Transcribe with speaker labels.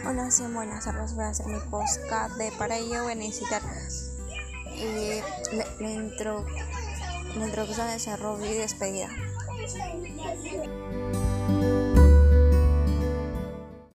Speaker 1: Hola, sí, buenas tardes. Voy a hacer mi podcast. Para ello voy a necesitar la introducción, desarrollo y despedida.